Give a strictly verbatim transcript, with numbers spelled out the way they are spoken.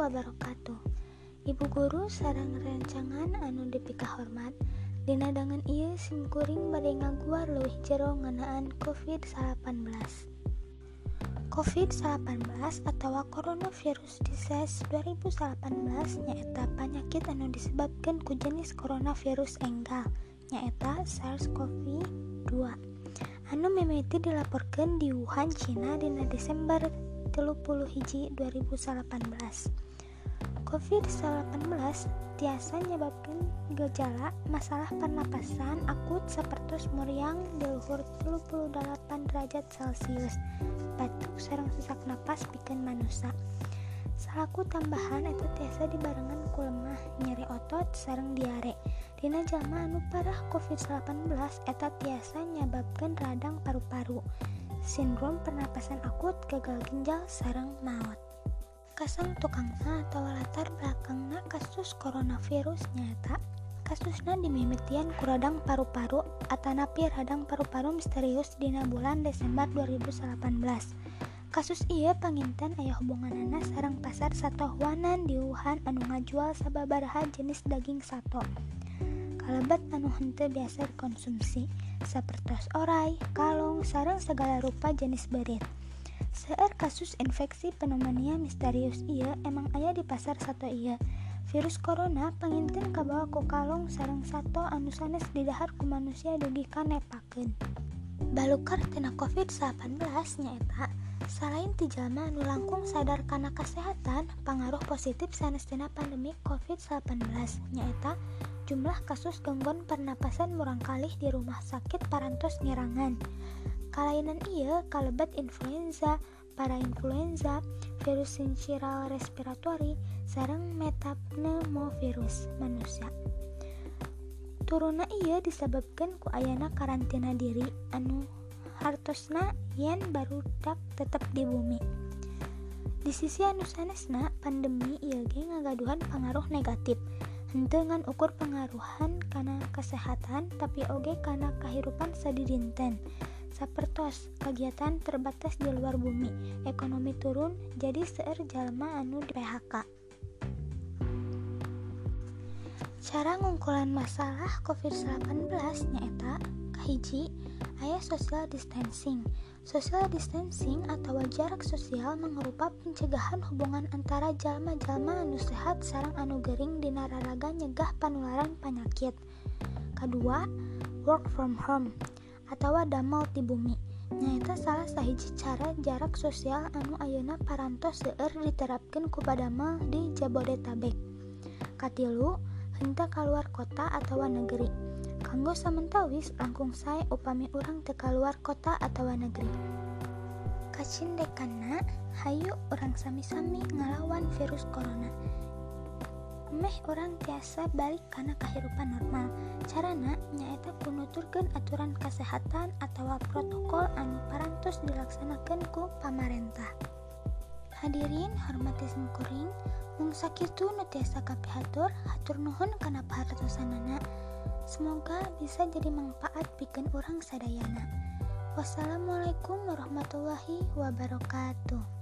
wabarakatuh. Ibu guru sareng rancangan anu dipika hormat, dina dangan ieu simkuring bade ngaguar leuwih jero ngeunaan covid salapan belas. covid salapan belas atawa coronavirus disease dua ribu delapan belas nyaeta panyakit anu disebabkeun ku jenis coronavirus enggal nyaeta SARS-CoV dua anu mimiti dilaporkeun di Wuhan, Cina dina Desember tilu puluh hiji dua ribu delapan belas. covid salapan belas tiasa nyababkeun gejala masalah pernapasan akut sapertos muriang di luhur tilu puluh dalapan derajat Celcius, batuk sareng sesak napas pikeun manusa. Salaku tambahan eta tiasa dibarengan ku lemah, nyeri otot sareng diare. Dina jalma anu parah covid salapan belas eta tiasa nyababkeun radang paru-paru, sindrom pernapasan akut, gagal ginjal sareng maot. Kasang tukangna atau latar belakangna kasus coronavirus nyaeta kasusna dimimitian ku radang paru-paru atanapi radang paru-paru misterius dina bulan Desember dua ribu delapan belas. Kasus ieu panginten aya hubunganana sareng pasar satohuanan di Wuhan anu ngajual sababaraha jenis daging sato. Kalebet anu henteu biasa dikonsumsi sapertos oray, kalong, sareng segala rupa jenis beureut. Seueur kasus infeksi pneumonia misterius ieu emang aya di pasar sato ieu. Virus corona panginten kabawa ku kalong sareng sato anu sanes didahar ku manusia dugi kanepakeun. Balukar tina covid salapan belas nyaeta salain ti jalma anu langkung sadar kana kasehatan, pangaruh positif sanes tina pandemi covid salapan belas nyaeta jumlah kasus gangguan pernapasan murangkalih di rumah sakit parantos nyerangan. Kalainan ieu kalebet influenza, parainfluenza, virus sinciral respiratory, sareng metapneumovirus manusia. Turuna ieu disebabkeun ku ayana karantina diri anu hartosna yen barudak tetep di bumi. Di sisi anu sanesna, pandemi ieu ge ngagaduhan pangaruh negatif, henteu ngan ukur pengaruhan kana kesehatan tapi oge kana kahirupan sadidinten. Sapertos kegiatan terbatas di luar bumi, ekonomi turun, jadi seueur jalma anu di P H K. Cara ngungkulan masalah covid salapan belas nyaeta kahiji, aya social distancing. Social distancing atau jarak sosial mangrupa pencegahan hubungan antara jalma-jalma anu sehat sareng anu gering dina raraga nyegah panularan panyakit. Kadua, work from home atawa damel ti bumi nyaeta salah sahiji cara jarak sosial anu ayeuna parantos seueur diterapkeun ku padamel di Jabodetabek. Katilu, henteu kaluar kota atawa negeri. Kanggo samentawis langkung sae upami urang teu kaluar kota atawa negeri. Kacindekanna, hayu urang sami-sami ngalawan virus corona. Emeh urang tiasa balik kana kahirupan normal. Carana nyaeta ku nuturkeun aturan kasehatan atawa protokol anu parantos dilaksanakeun ku pamarentah. Hadirin hormati simkuring, mung sakitu nu tiasa kapihatur, hatur nuhun kana pahartosanana. Semoga bisa jadi manfaat pikeun urang sadayana. Wassalamualaikum warahmatullahi wabarakatuh.